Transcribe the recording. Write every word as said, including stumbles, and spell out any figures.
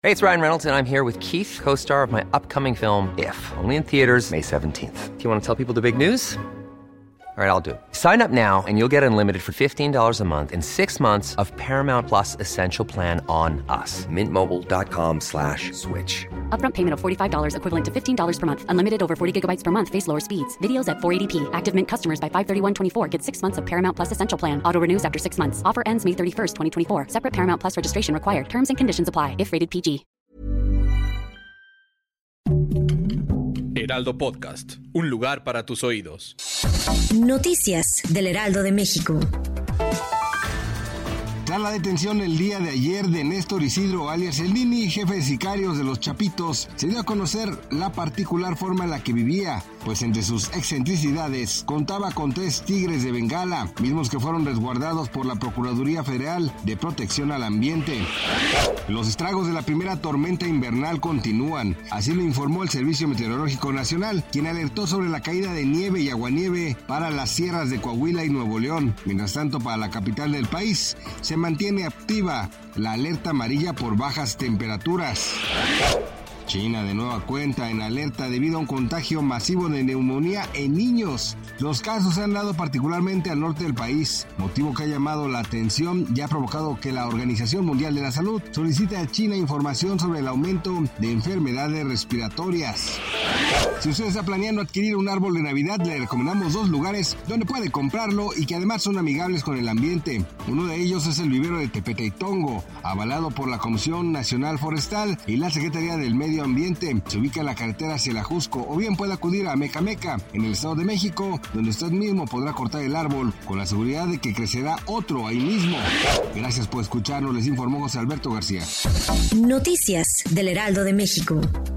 Hey, it's Ryan Reynolds, and I'm here with Keith, co-star of my upcoming film, If, only in theaters May seventeenth. Do you want to tell people the big news? All right, I'll do it. Sign up now and you'll get unlimited for fifteen dollars a month and six months of Paramount Plus Essential Plan on us. Mint Mobile dot com slash switch. Upfront payment of forty-five dollars equivalent to fifteen dollars per month. Unlimited over forty gigabytes per month. Face lower speeds. Videos at four eighty p. Active Mint customers by five thirty-one twenty-four get six months of Paramount Plus Essential Plan. Auto renews after six months. Offer ends May thirty-first, twenty twenty-four. Separate Paramount Plus registration required. Terms and conditions apply if rated P G. Heraldo Podcast, un lugar para tus oídos. Noticias del Heraldo de México. Tras la detención el día de ayer de Néstor Isidro alias El Nini, jefe de sicarios de los Chapitos, se dio a conocer la particular forma en la que vivía, pues entre sus excentricidades contaba con tres tigres de Bengala, mismos que fueron resguardados por la Procuraduría Federal de Protección al Ambiente. Los estragos de la primera tormenta invernal continúan, así lo informó el Servicio Meteorológico Nacional, quien alertó sobre la caída de nieve y aguanieve para las sierras de Coahuila y Nuevo León. Mientras tanto, para la capital del país, se mantiene activa la alerta amarilla por bajas temperaturas. China de nueva cuenta en alerta debido a un contagio masivo de neumonía en niños. Los casos se han dado particularmente al norte del país, motivo que ha llamado la atención y ha provocado que la Organización Mundial de la Salud solicite a China información sobre el aumento de enfermedades respiratorias. Si usted está planeando adquirir un árbol de Navidad, le recomendamos dos lugares donde puede comprarlo y que además son amigables con el ambiente. Uno de ellos es el vivero de Tepeteitongo, avalado por la Comisión Nacional Forestal y la Secretaría del Medio Ambiente. Se ubica en la carretera hacia el Ajusco, o bien puede acudir a Mecameca, en el Estado de México, donde usted mismo podrá cortar el árbol con la seguridad de que crecerá otro ahí mismo. Gracias por escucharnos, les informó José Alberto García. Noticias del Heraldo de México.